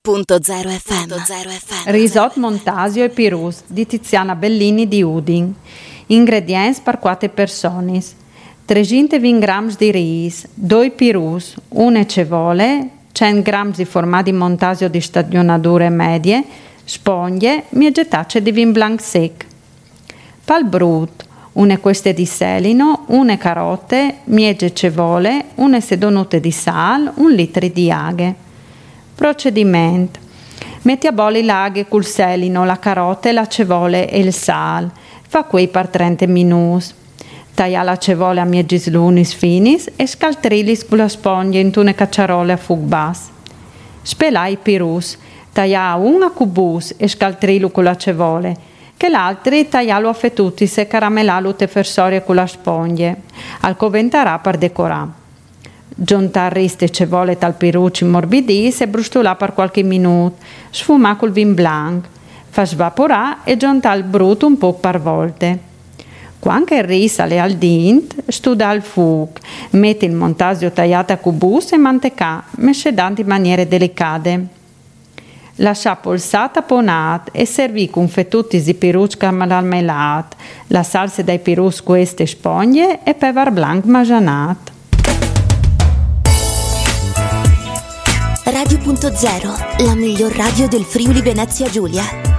Radio.0 FM. Risotto Montasio e Pirus di Tiziana Bellini di Udin. Ingredienti per 4 persone: 320 grammi di riso, 2 pirus, 1 cevole, 100 grammi di formaggi Montasio di stagionature medie, sponge, mieggetacce di vin blanc sec. Pal brut, 1 queste di selino, 1 carote, miegge cevole, 1 sedonute di sal, 1 litro di aghe. Procedimento: metti a bolli l'aghe col selino, la carota, la cevole e il sal. Fa quei per 30 minuti. Taglia la cevole a mieggi slunis finis e scaltrilis con la spoglia in tune cacciarole a fuoco basso. Spelai i pirus, taglia un a cubus e scaltrilu con la cevole, che l'altri taglialo a fettutis e caramellalu te fersorie con la spoglia. Al coventarà per decorare. Giuntar riste cevole tal pirucci morbidis e brustolà per qualche minuto, sfumà col vin blanc, fa svaporà e giunta il brut un po' per volte. Quando il riso sale al dint, studa al fuoco, metti il montasio tagliato a cubus e mantecà, mescedando in maniere delicate. Lascia polsata ponat e servì con fettutis di pirucci caramellat, la salsa dai pirus queste spoglie e pevar blanc majanat. Radio.0, la miglior radio del Friuli Venezia Giulia.